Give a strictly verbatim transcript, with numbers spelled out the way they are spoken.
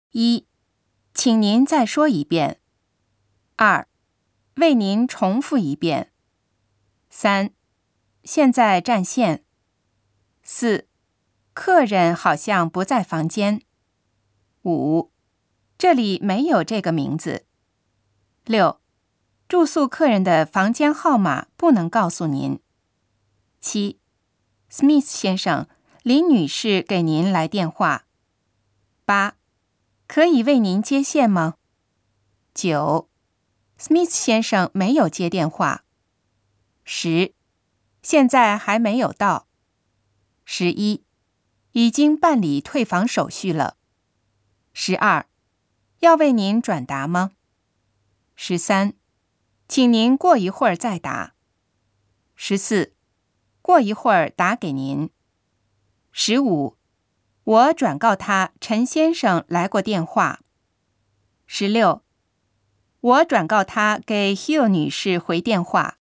一，请您再说一遍。二，为您重复一遍。三，现在占线。四，客人好像不在房间。五，这里没有这个名字。六，住宿客人的房间号码不能告诉您。七， Smith 先生，林女士给您来电话。八，可以为您接线吗？九， Smith 先生没有接电话。十，现在还没有到。十一，已经办理退房手续了。十二，要为您转达吗？十三，请您过一会儿再打。十四，过一会儿打给您。十五，我转告他陈先生来过电话。十六，我转告他给 Hill 女士回电话。